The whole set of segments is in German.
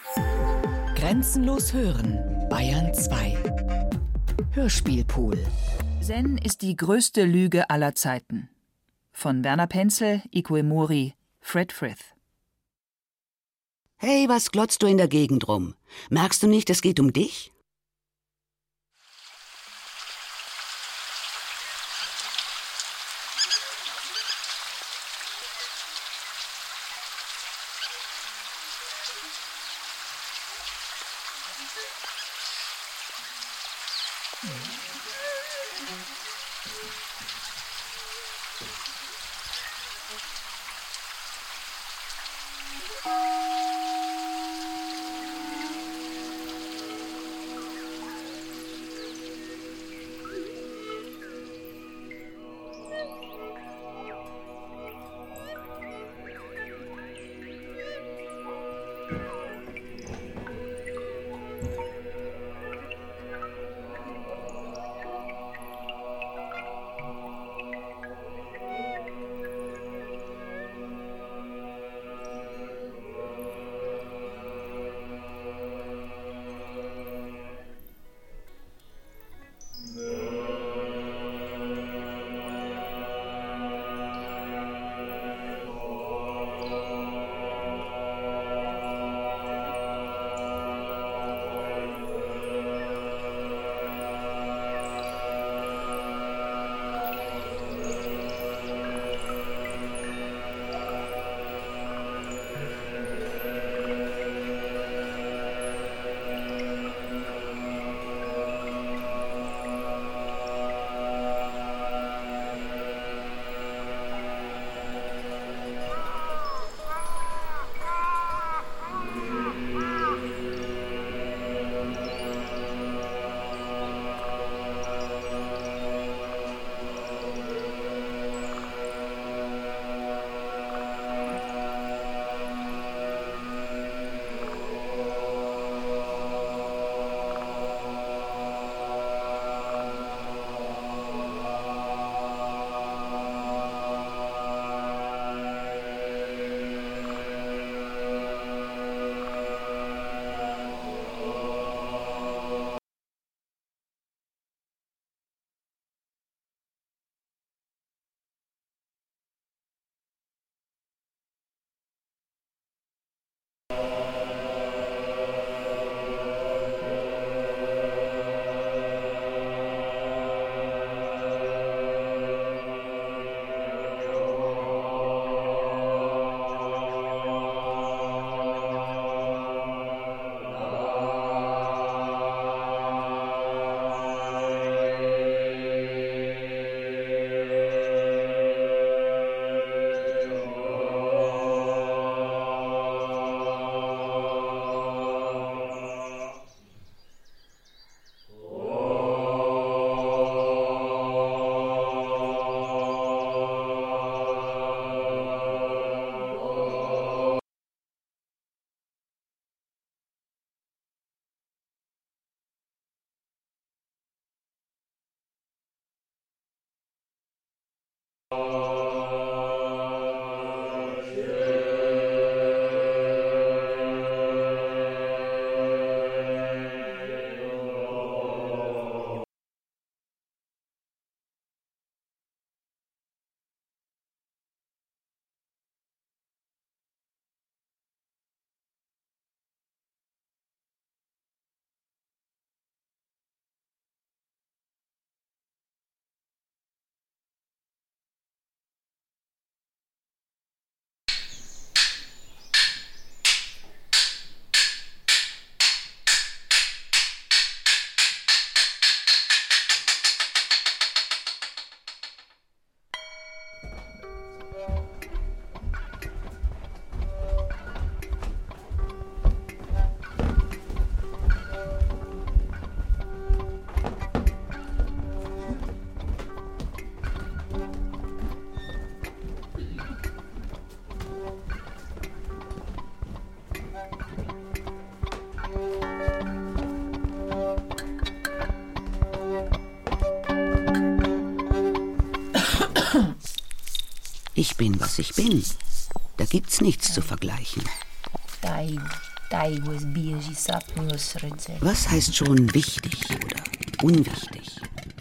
Grenzenlos hören, Bayern 2. Hörspielpool. Zen ist die größte Lüge aller Zeiten. Von Werner Penzel, Ikue Mori, Fred Frith. Hey, was glotzt du in der Gegend rum? Merkst du nicht, es geht um dich? Ich bin, was ich bin. Da gibt's nichts zu vergleichen. Dein Was heißt schon wichtig oder unwichtig?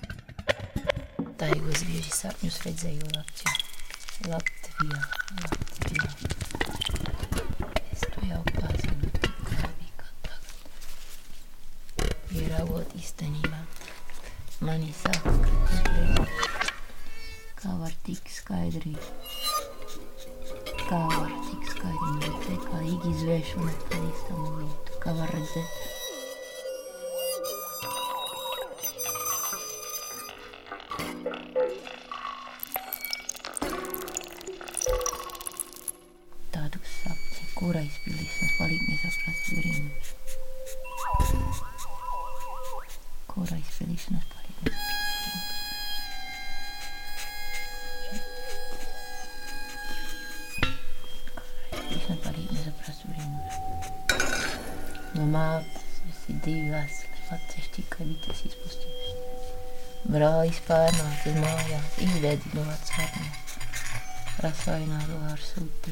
Brālis pārnāca uz mājās, izvedzi no vecākām. Rasainātu ar sūti.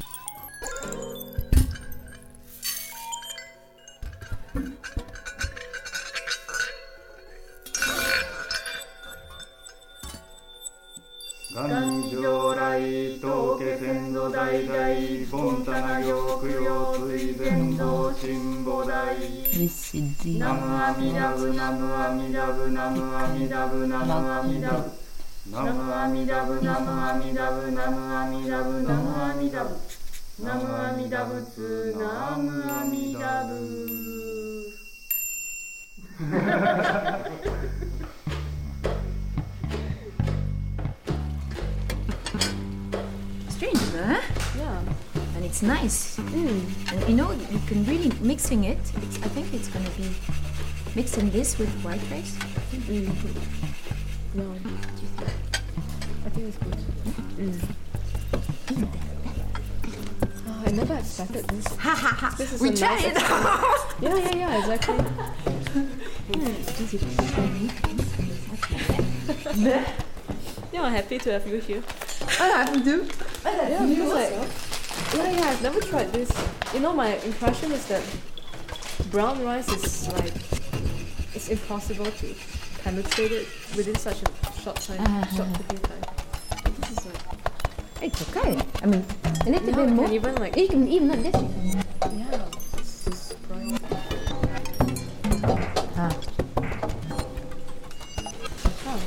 Strange, huh? Yeah. And it's nice. And you know, you can really mixing it. I think it's gonna be mixing this with white rice. No, what do you think? I think it's good. Oh, I never expected this. Ha ha ha! This is We a nice tried it! Yeah, exactly. Yeah, I'm happy to have you here. I have to do. Yeah, because I've never tried this. You know, my impression is that brown rice is like, it's impossible to penetrate it within such a short time, short cooking time. This is like, It's okay. I mean, a little bit more. and even like, Even like this. yeah, this is bright. Ah. Oh.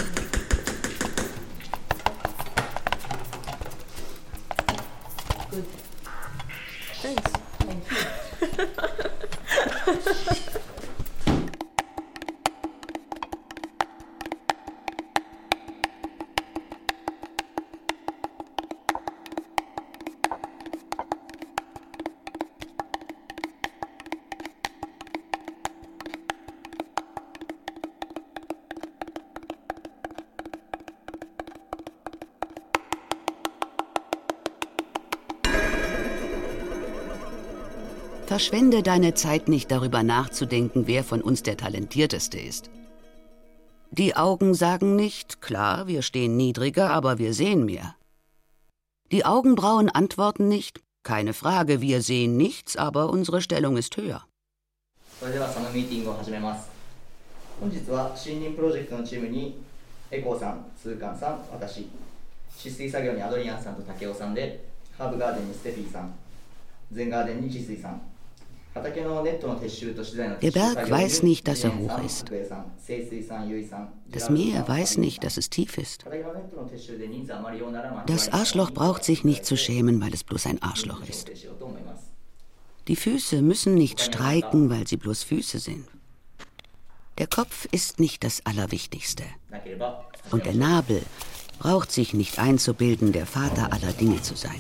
Good. Thanks. Thank you. Verschwende deine Zeit nicht darüber nachzudenken, wer von uns der Talentierteste ist. Die Augen sagen nicht, klar, wir stehen niedriger, aber wir sehen mehr. Die Augenbrauen antworten nicht, keine Frage, wir sehen nichts, aber unsere Stellung ist höher. それではそのミーティングを始めます。本日は森林プロジェクトのチームにエコーさん、スーカンさん、私、治水作業にアドリアンさんと竹雄さんで、ハーブガーデンにステフィーさん、ゼンガーデンに治水さん、畑のネットの撤収と資材の撤収 Der 作 Berg 業に weiß nicht, dass ジ er ェーンさ hoch ん、 ist. 福江さん、清水さん、ゆいさん、 Das Meer weiß nicht, dass es tief ist. Das Arschloch braucht sich nicht zu schämen, weil es bloß ein Arschloch ist. Die Füße müssen nicht streiken, weil sie bloß Füße sind. Der Kopf ist nicht das Allerwichtigste. Und der Nabel braucht sich nicht einzubilden, der Vater aller Dinge zu sein.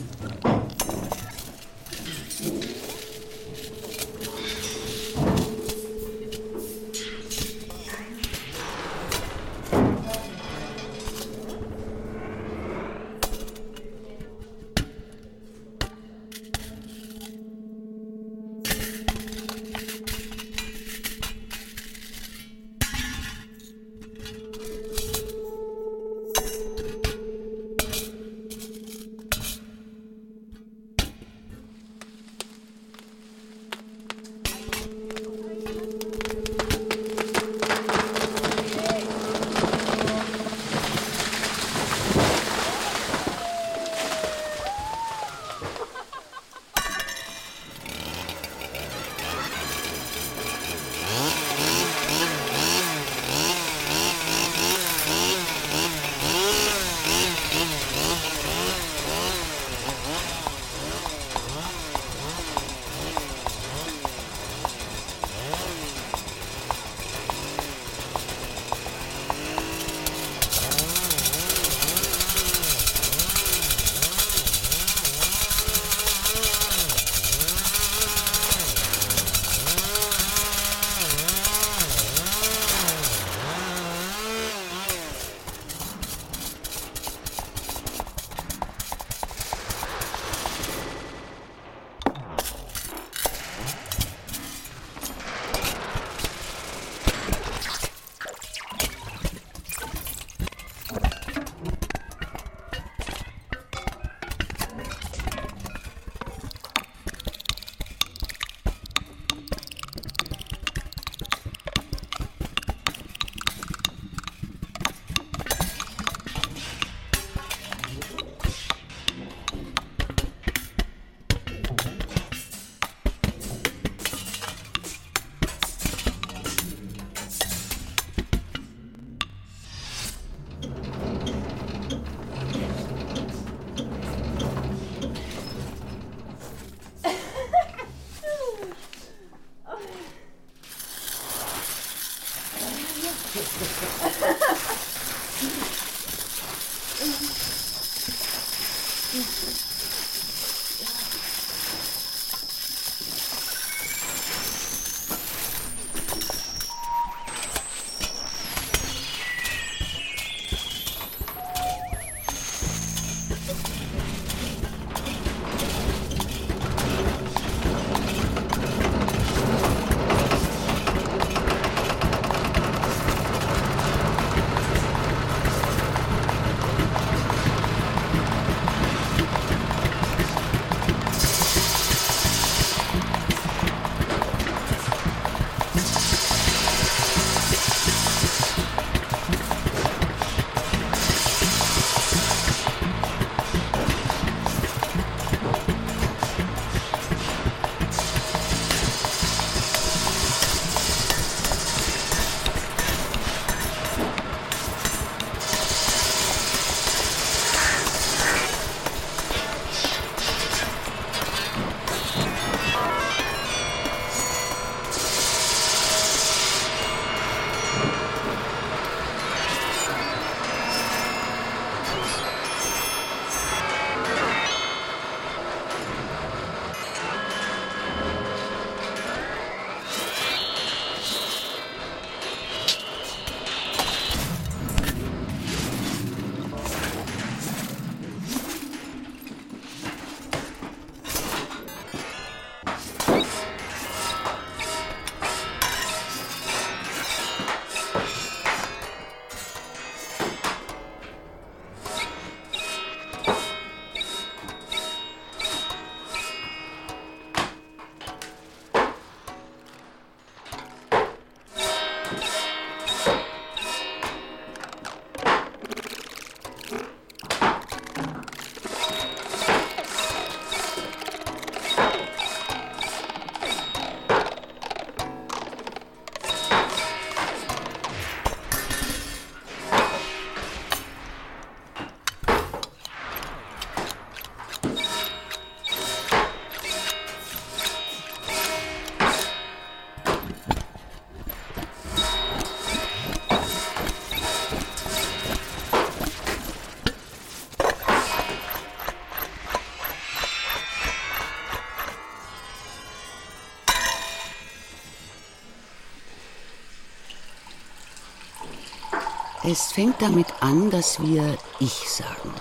Es fängt damit an, dass wir Ich sagen.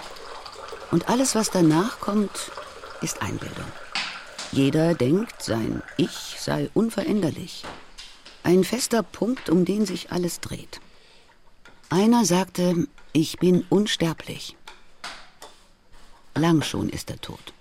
Und alles, was danach kommt, ist Einbildung. Jeder denkt, sein Ich sei unveränderlich. Ein fester Punkt, um den sich alles dreht. Einer sagte, ich bin unsterblich. Lang schon ist er tot.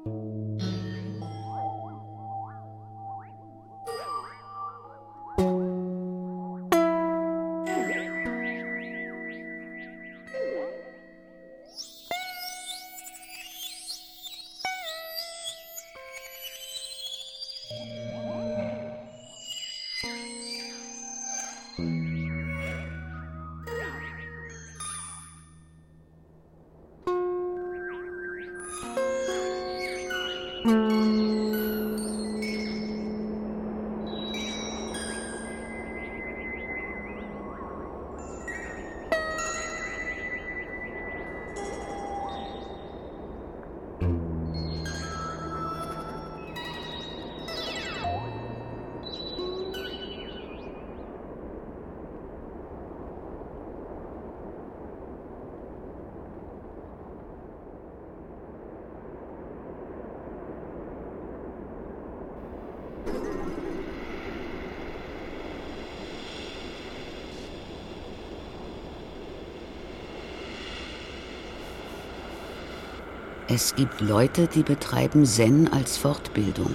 Es gibt Leute, die betreiben Zen als Fortbildung.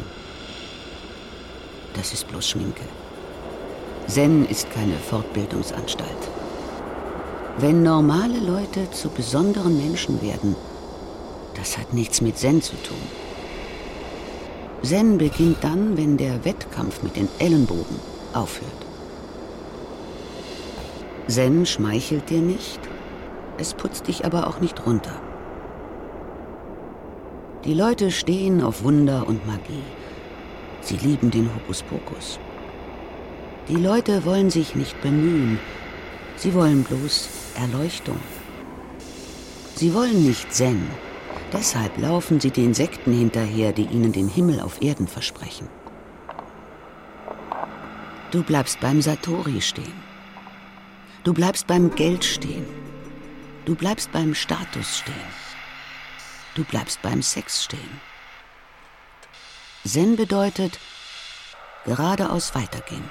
Das ist bloß Schminke. Zen ist keine Fortbildungsanstalt. Wenn normale Leute zu besonderen Menschen werden, das hat nichts mit Zen zu tun. Zen beginnt dann, wenn der Wettkampf mit den Ellenbogen aufhört. Zen schmeichelt dir nicht, es putzt dich aber auch nicht runter. Die Leute stehen auf Wunder und Magie. Sie lieben den Hokuspokus. Die Leute wollen sich nicht bemühen. Sie wollen bloß Erleuchtung. Sie wollen nicht Zen. Deshalb laufen sie den Sekten hinterher, die ihnen den Himmel auf Erden versprechen. Du bleibst beim Satori stehen. Du bleibst beim Geld stehen. Du bleibst beim Status stehen. Du bleibst beim Sex stehen. Zen bedeutet geradeaus weitergehen.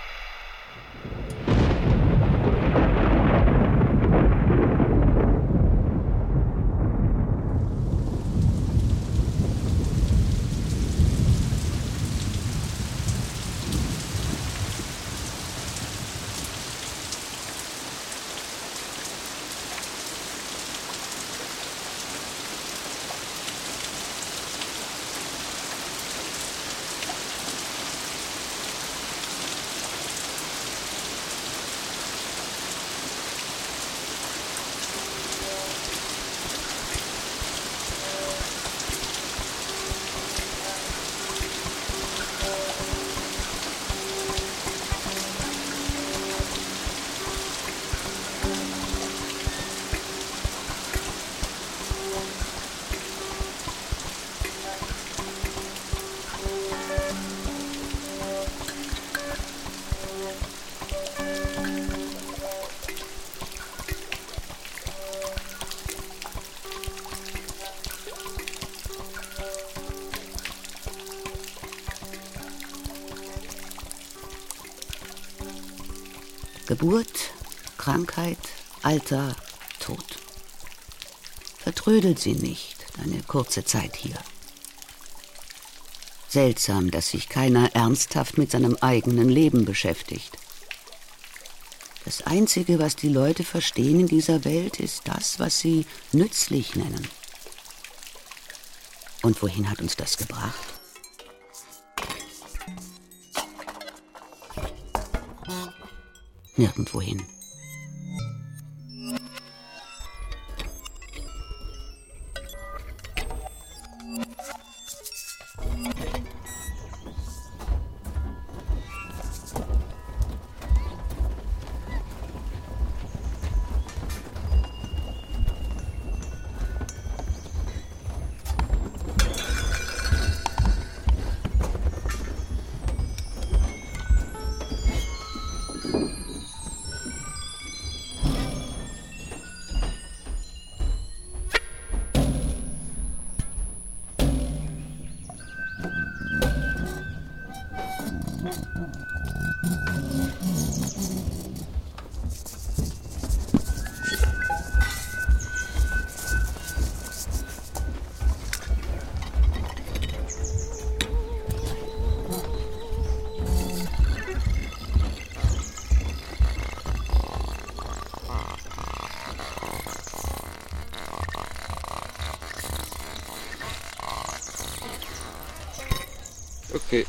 Geburt, Krankheit, Alter, Tod. Vertrödelt sie nicht, deine kurze Zeit hier. Seltsam, dass sich keiner ernsthaft mit seinem eigenen Leben beschäftigt. Das Einzige, was die Leute verstehen in dieser Welt, ist das, was sie nützlich nennen. Und wohin hat uns das gebracht? Nirgendwohin. Okay.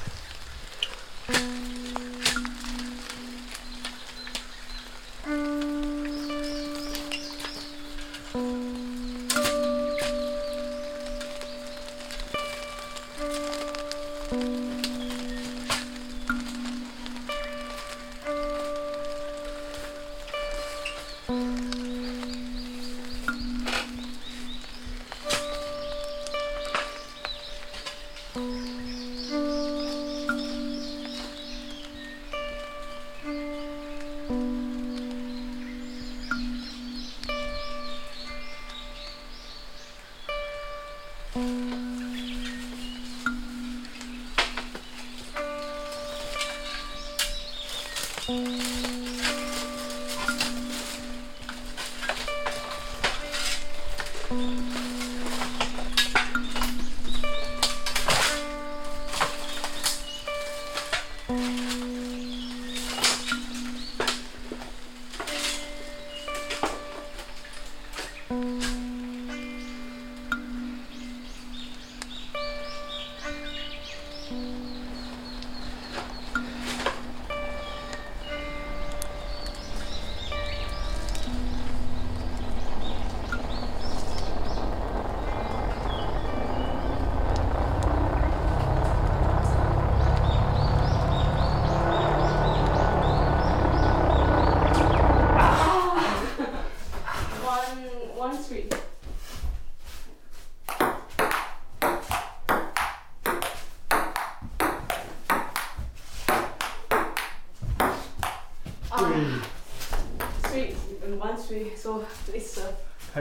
So please serve. はい。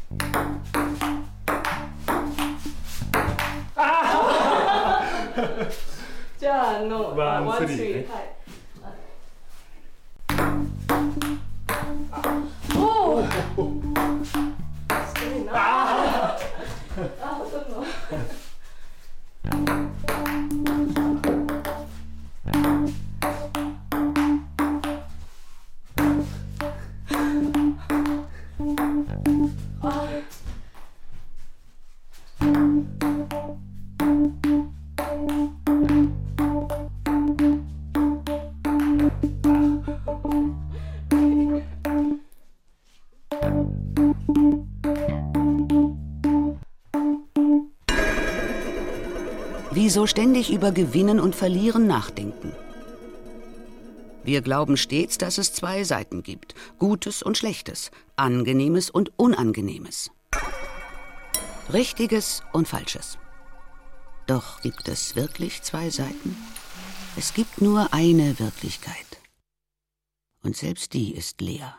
じゃあのワンワンスリーね。 はい。おお。すごいな。あ、ほとんど。 Wieso ständig über Gewinnen und Verlieren nachdenken? Wir glauben stets, dass es zwei Seiten gibt, Gutes und Schlechtes, Angenehmes und Unangenehmes, Richtiges und Falsches. Doch gibt es wirklich zwei Seiten? Es gibt nur eine Wirklichkeit. Und selbst die ist leer.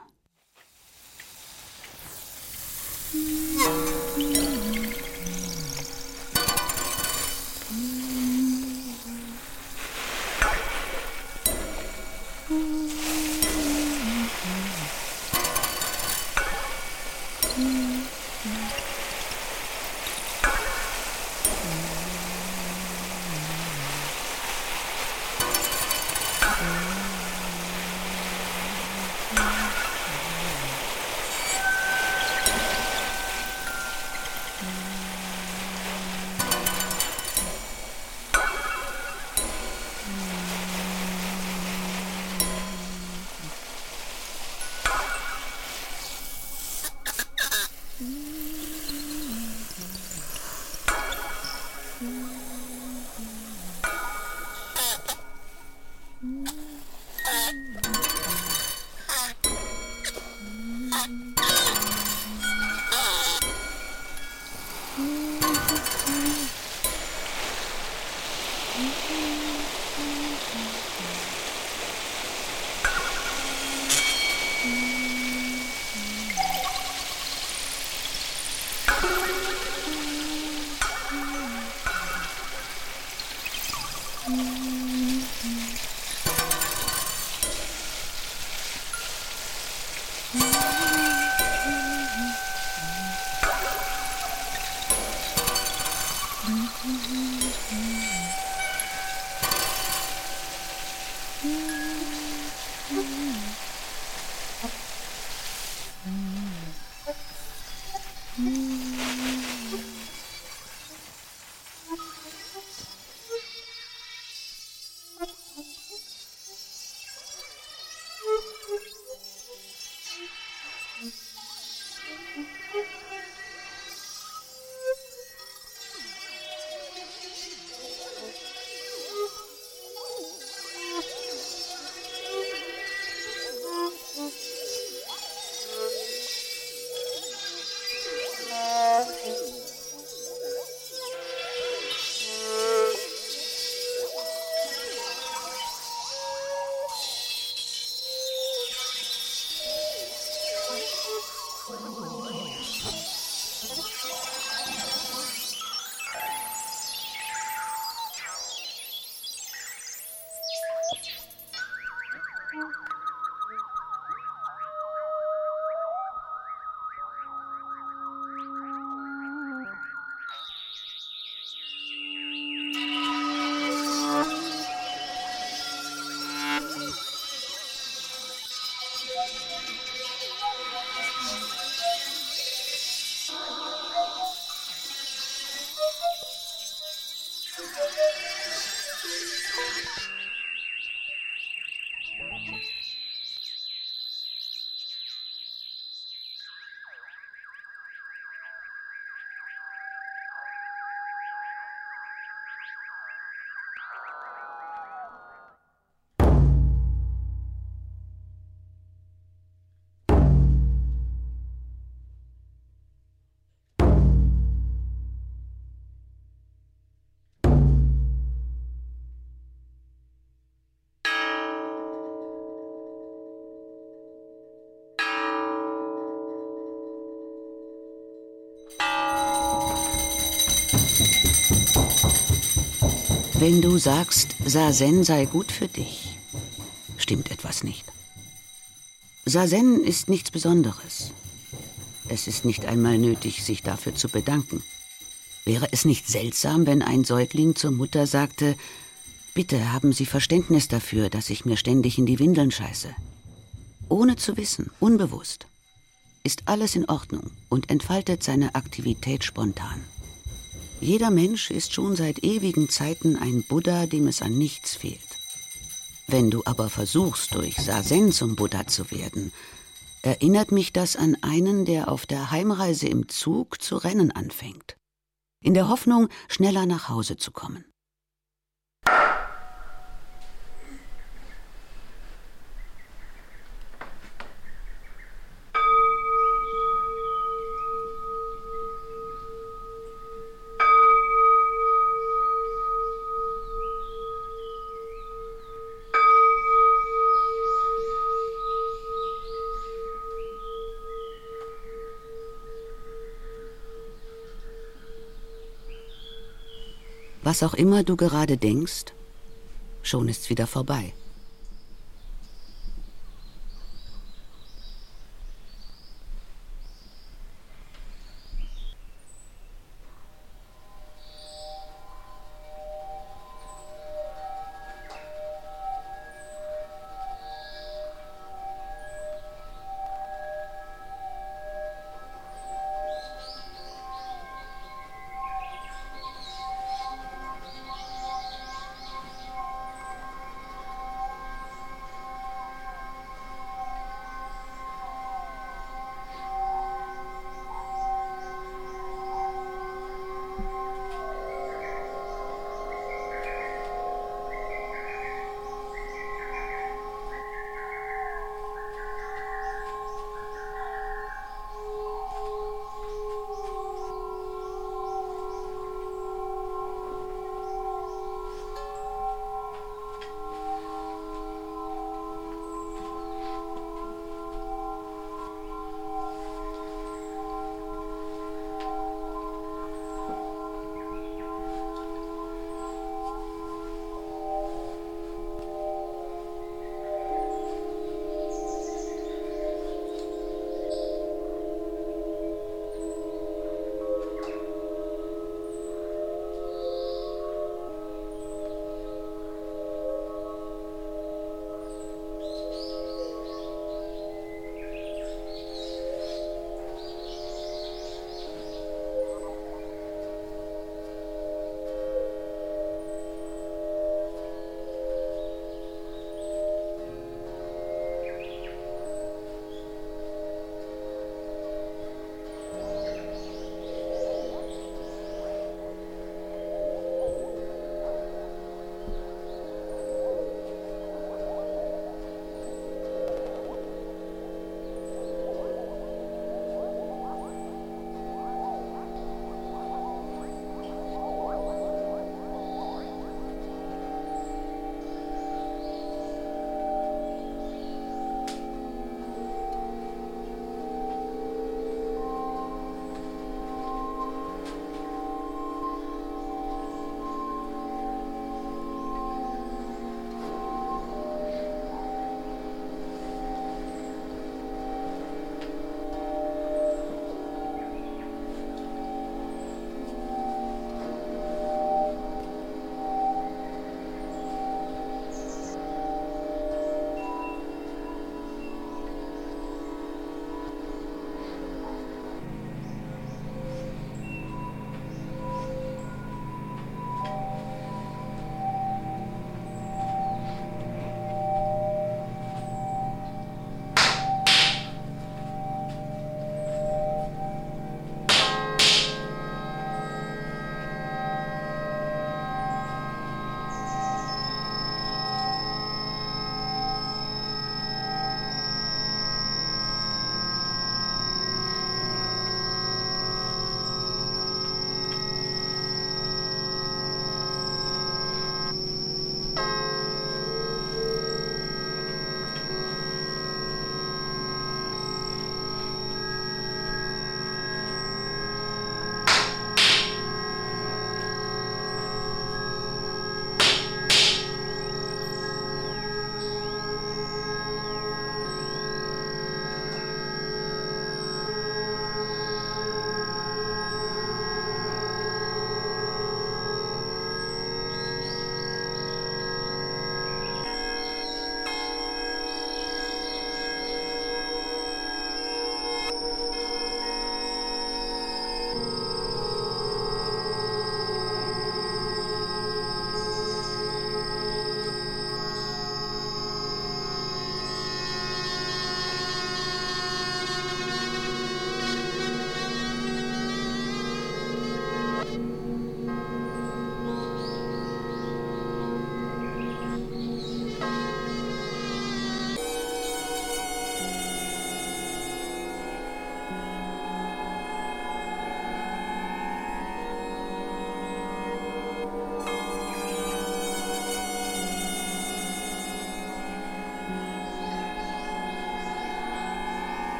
Wenn du sagst, Zazen sei gut für dich, stimmt etwas nicht. Zazen ist nichts Besonderes. Es ist nicht einmal nötig, sich dafür zu bedanken. Wäre es nicht seltsam, wenn ein Säugling zur Mutter sagte, bitte haben Sie Verständnis dafür, dass ich mir ständig in die Windeln scheiße? Ohne zu wissen, unbewusst, ist alles in Ordnung und entfaltet seine Aktivität spontan. Jeder Mensch ist schon seit ewigen Zeiten ein Buddha, dem es an nichts fehlt. Wenn du aber versuchst, durch Zazen zum Buddha zu werden, erinnert mich das an einen, der auf der Heimreise im Zug zu rennen anfängt, in der Hoffnung, schneller nach Hause zu kommen. Was auch immer du gerade denkst, schon ist's wieder vorbei.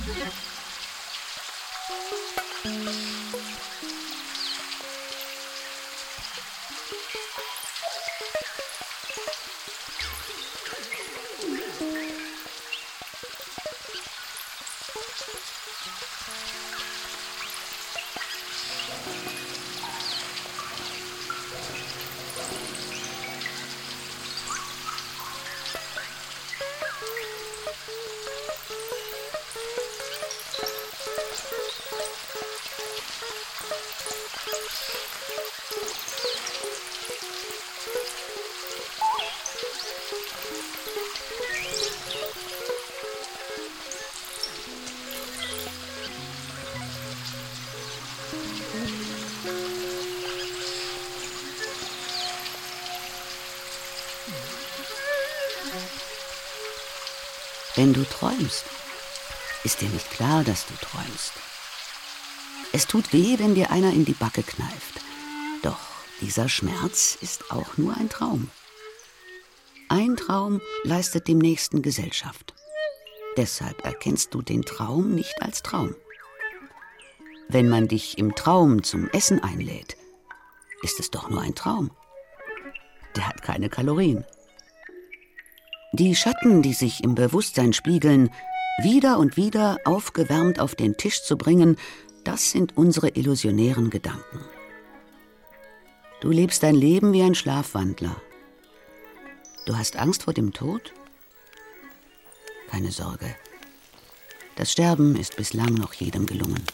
Wenn du träumst, ist dir nicht klar, dass du träumst. Es tut weh, wenn dir einer in die Backe kneift. Doch dieser Schmerz ist auch nur ein Traum. Ein Traum leistet dem Nächsten Gesellschaft. Deshalb erkennst du den Traum nicht als Traum. Wenn man dich im Traum zum Essen einlädt, ist es doch nur ein Traum. Der hat keine Kalorien. Die Schatten, die sich im Bewusstsein spiegeln, wieder und wieder aufgewärmt auf den Tisch zu bringen, das sind unsere illusionären Gedanken. Du lebst dein Leben wie ein Schlafwandler. Du hast Angst vor dem Tod? Keine Sorge. Das Sterben ist bislang noch jedem gelungen.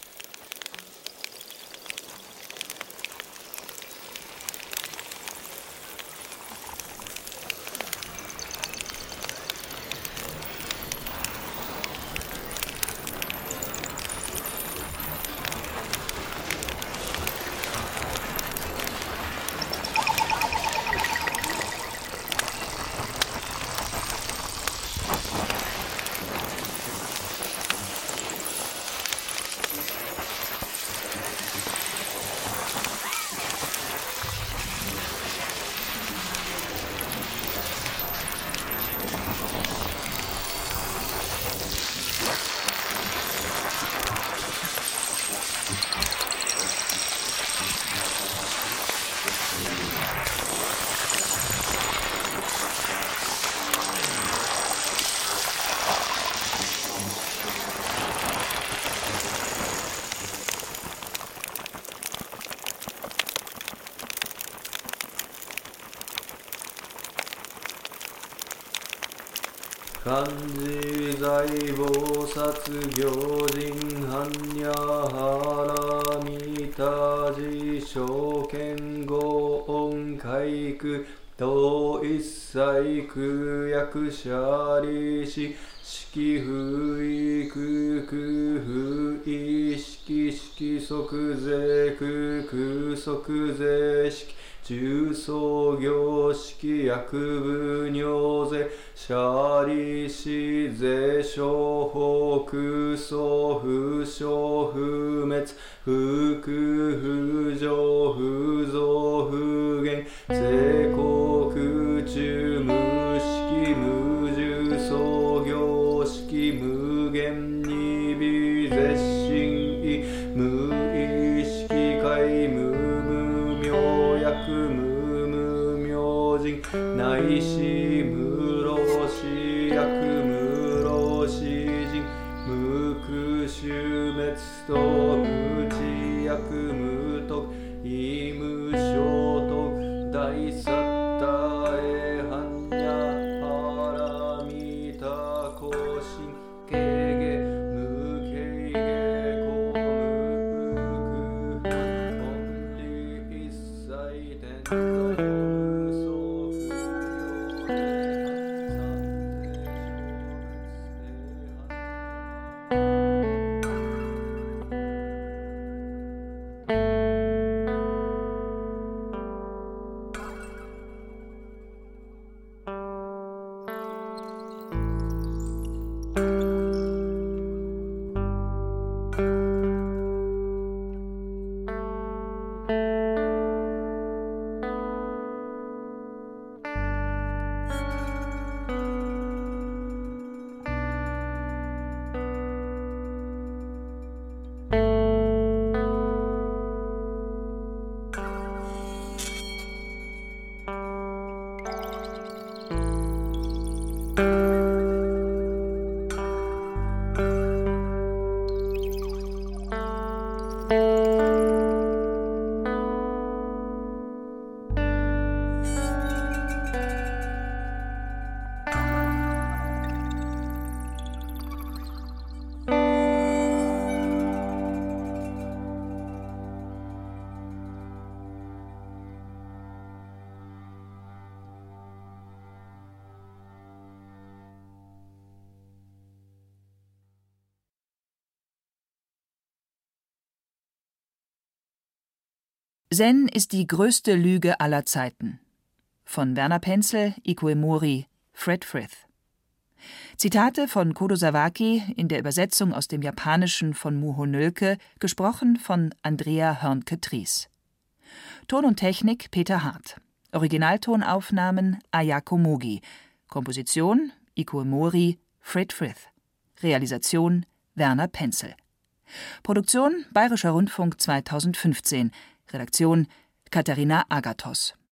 漢字財菩薩行人般若波羅蜜多事証券語音回復同一切空薬者利子式不意空空不意識式即税空空即税式重創業式薬部尿税舎利子税商法空想不傷不滅不空不浄不増不減税国空中無式無重創業式無限に微絶心意無意識界無無明薬無無明人内視無老死薬無老死人無空終滅と無知薬無徳異無所得大サッタエハンニャパラミタコシンケゲ無ケゲコ無空本理一切天台無相不要三世消滅 Zen ist die größte Lüge aller Zeiten. Von Werner Penzel, Ikue Mori, Fred Frith. Zitate von Kodo Sawaki in der Übersetzung aus dem Japanischen von Muho Nölke, gesprochen von Andrea Hörnke-Tries. Ton und Technik Peter Hart. Originaltonaufnahmen Ayako Mogi. Komposition Ikue Mori, Fred Frith. Realisation Werner Penzel. Produktion Bayerischer Rundfunk 2015. Redaktion Katharina Agathos.